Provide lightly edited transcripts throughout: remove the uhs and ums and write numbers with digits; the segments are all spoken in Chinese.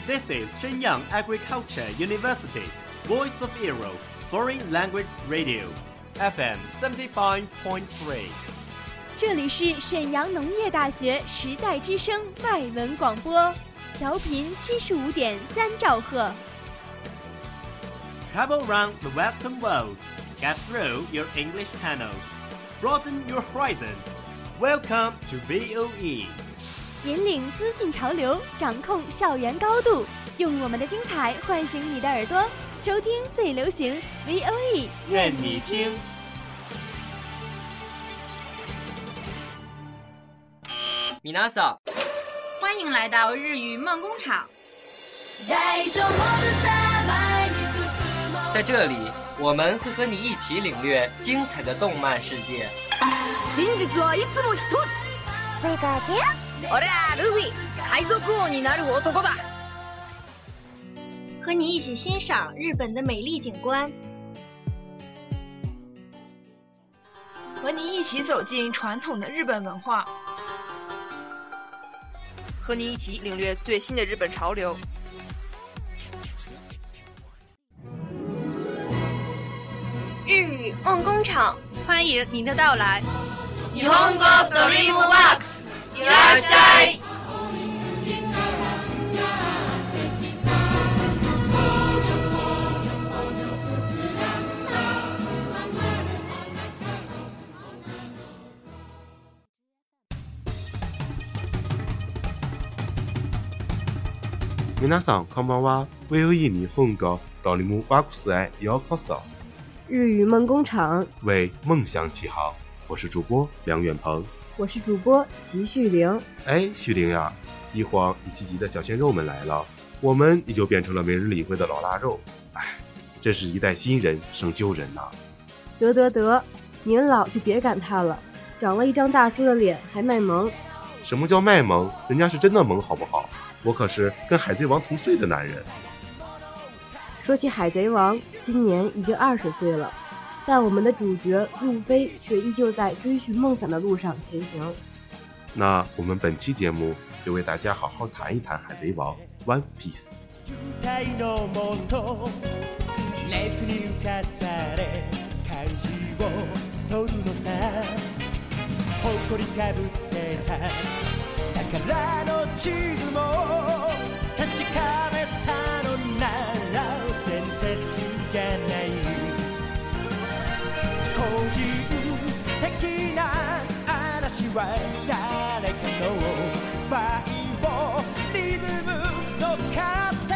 This is Shenyang Agriculture University, Voice of Europe, Foreign Language Radio, FM 75.3。 这里是沈阳农业大学时代之声外文广播，调频75.3兆赫。 Travel around the Western world, get through your English channels, broaden your horizon. Welcome to VOE. 引领资讯潮流，掌控校园高度，用我们的精彩唤醒你的耳朵，收听最流行 VOE， 愿你听。 米娜桑， 欢迎来到日语梦工厂。 在这里，我们会和你一起领略精彩的动漫世界。 真実はいつも一つ。 贝卡姐， 俺らルフィ，海賊王になる男だ。 和你一起欣赏日本的美丽景观， 和你一起走进传统的日本文化， 和你一起领略最新的日本潮流。 日语梦工厂， 欢迎您的到来。 日本語ドリームワークス，いらっしゃい。 皆さんこんばんは。VOE 日本語ドリームワークスへようこそ。 日语梦工厂为梦想起航，我是主播梁远鹏， 我是主播吉旭玲。 哎，旭玲呀，一晃一七级的小鲜肉们来了，我们也就变成了没人理会的老腊肉。哎，真是一代新人胜旧人呐。 得，您老就别感叹了，长了一张大叔的脸还卖萌。 什么叫卖萌？人家是真的萌好不好？我可是跟海贼王同岁的男人。 说起海贼王，今年已经20岁了，但我们的主角路飞却依旧在追寻梦想的路上前行。 那我们本期节目就为大家好好谈一谈海贼王 One Piece。 宝の地図も確かめたのなら伝説じゃない個人的な嵐は誰かのバイオリズム乗っかって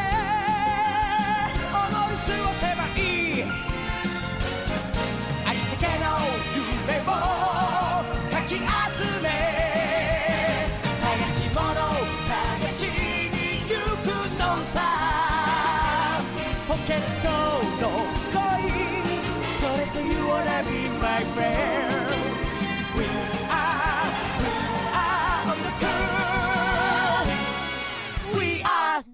思い過ごせばいいありったけの夢をかき集めポケットの恋それと You wanna be my friend We are on the cool We are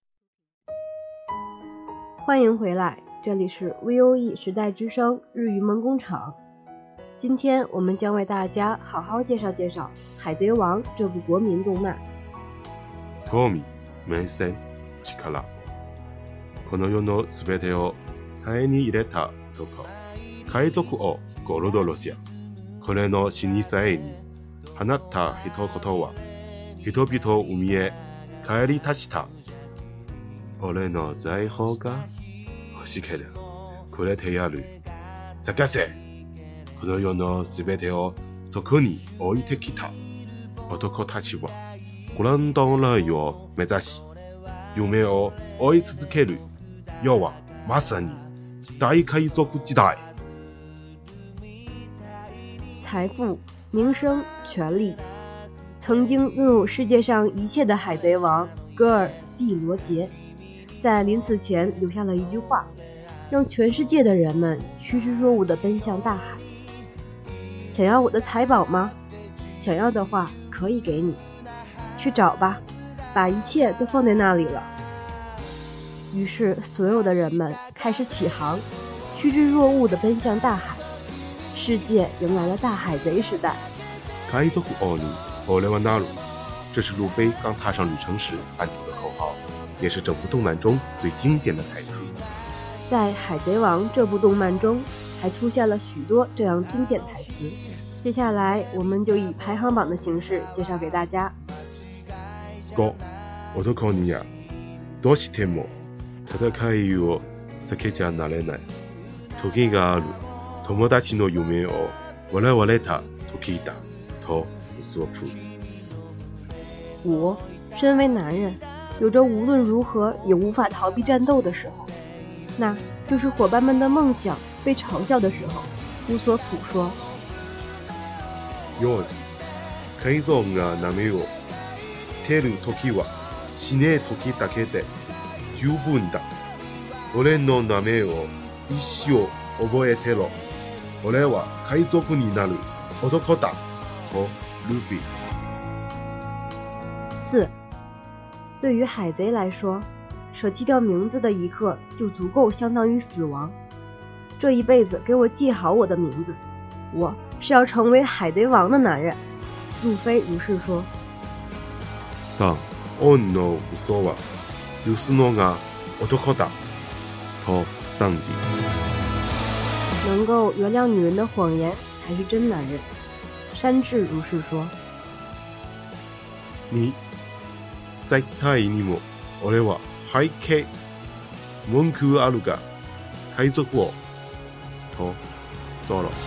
欢迎回来，这里是 VOE 时代之声日语梦工厂。今天我们将为大家好好介绍介绍《海贼王》这部国民动漫。 興味、名声、力。この世のすべてを手に入れた男、海賊王ゴールドロジャー。これの死に際に放った一言は、人々を海へ帰り立ちた。俺の財宝が欲しければくれてやる。探せ。この世のすべてをそこに置いてきた。男たちはグランドラインを目指し、夢を追い続ける。要はまさに大海賊時代。 财富、名声、权力，曾经拥有世界上一切的海贼王戈尔蒂罗杰，在临死前留下了一句话，让全世界的人们趋之若鹜地奔向大海。想要我的财宝吗？想要的话可以给你，去找吧，把一切都放在那里了。于是所有的人们开始起航，趋之若鹜地奔向大海。世界迎来了大海贼时代。 海賊王に俺はなる，这是路飞刚踏上旅程时喊出的口号。 也是整部动漫中最经典的台词。 在《海贼王》这部动漫中，还出现了许多这样经典台词。接下来，我们就以排行榜的形式介绍给大家。 5、男にはどうしても戦いを避けちゃなれないトゲがある友達の夢を笑われた時だとウソップ。 5、身为男人，有着无论如何也无法逃避战斗的时候，那就是伙伴们的梦想被嘲笑的时候。乌索普说。 4、海賊が波を捨てる時は死ねえ時だけで十分だ。俺の名前を一生覚えてろ。俺は海賊になる男だ。とルフィ。 4、对于海贼来说，舍弃掉名字的一刻就足够相当于死亡。这一辈子给我记好我的名字，我是要成为海贼王的男人。路飞如是说。 3、恩の嘘は許すのが男だ。と桑吉。 能够原谅女人的谎言才是真男人。山治如是说。 2、絶対にも俺は背景文句あるが海賊王。とゾロ。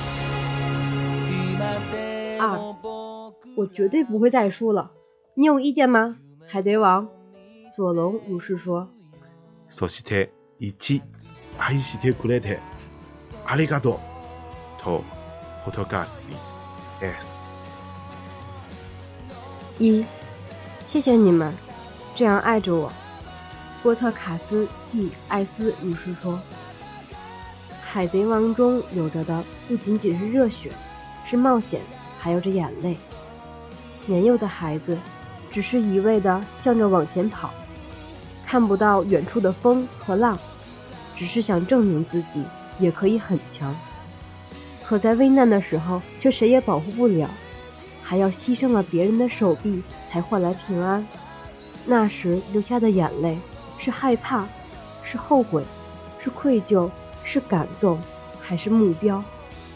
2、我绝对不会再输了，你有意见吗？海贼王。索隆如是说。 そして1、愛してくれてありがとう。とポトガスに S。 1、谢谢你们这样爱着我。波特卡斯蒂艾斯如是说。海贼王中有着的不仅仅是热血，是冒险，还有着眼泪。年幼的孩子只是一味的向着往前跑，看不到远处的风和浪，只是想证明自己也可以很强。可在危难的时候却谁也保护不了，还要牺牲了别人的手臂才换来平安。那时流下的眼泪是害怕，是后悔，是愧疚，是感动，还是目标？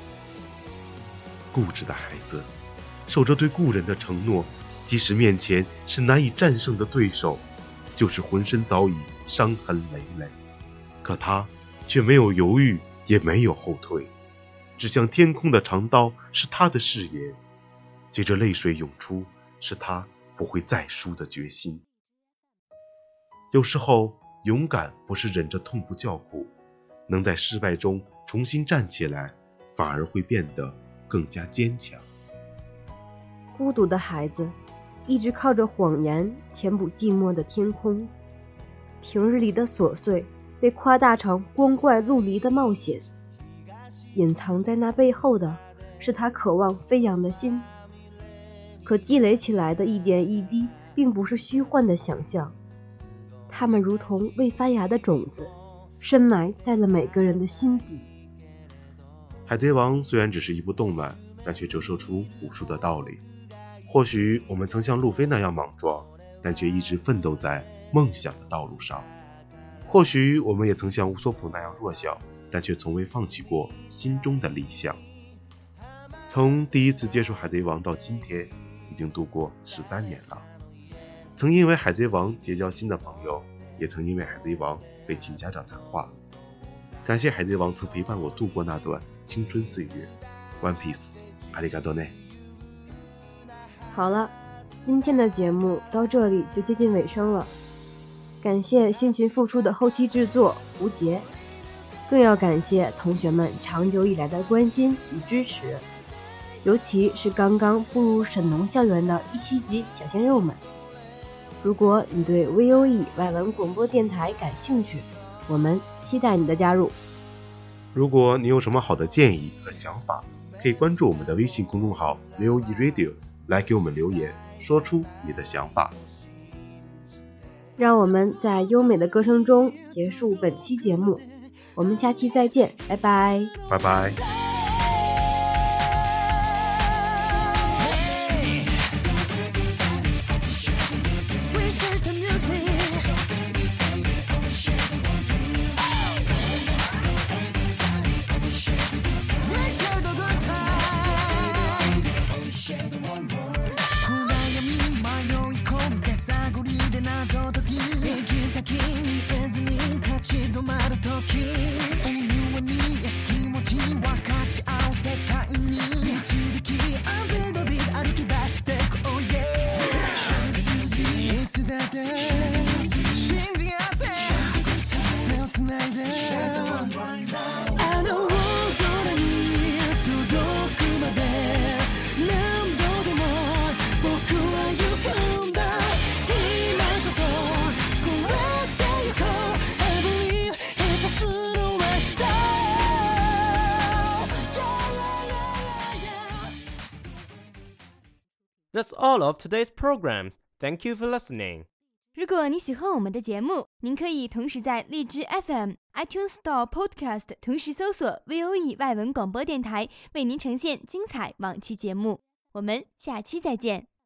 固执的孩子守着对故人的承诺，即使面前是难以战胜的对手，就是浑身早已伤痕累累，可他却没有犹豫，也没有后退。指向天空的长刀是他的誓言，随着泪水涌出，是他不会再输的决心。有时候勇敢不是忍着痛不叫苦，能在失败中重新站起来，反而会变得更加坚强。 孤独的孩子一直靠着谎言填补寂寞的天空，平日里的琐碎被夸大成光怪陆离的冒险，隐藏在那背后的是他渴望飞扬的心。可积累起来的一点一滴并不是虚幻的想象，它们如同未发芽的种子，深埋在了每个人的心底。 海贼王虽然只是一部动漫，但却折射出无数的道理。或许我们曾像路飞那样莽撞，但却一直奋斗在梦想的道路上。或许我们也曾像乌索普那样弱小，但却从未放弃过心中的理想。从第一次接触海贼王到今天，已经度过13年了。曾因为海贼王结交新的朋友，也曾因为海贼王被请家长谈话。感谢海贼王曾陪伴我度过那段青春岁月。One Piece， ありがとうね。 好了，今天的节目到这里就接近尾声了。感谢辛勤付出的后期制作吴杰，更要感谢同学们长久以来的关心与支持，尤其是刚刚步入沈农校园的17级小鲜肉们。如果你对 VOE 外文广播电台感兴趣，我们期待你的加入。 如果你有什么好的建议和想法，可以关注我们的微信公众号 VOE Radio 来给我们留言，说出你的想法。 让我们在优美的歌声中结束本期节目，我们下期再见，拜拜， 拜拜。 We search the music. て信じ合って手をつないであの大空に届くまで何度でも僕は行くんだ今こそ超えてゆこう I believe 下手する明日 That's all of today's programs. Thank you for listening. 如果你喜欢我们的节目，您可以同时在荔枝 FM、iTunes Store Podcast 同时搜索 VOE 外文广播电台，为您呈现精彩往期节目。我们下期再见。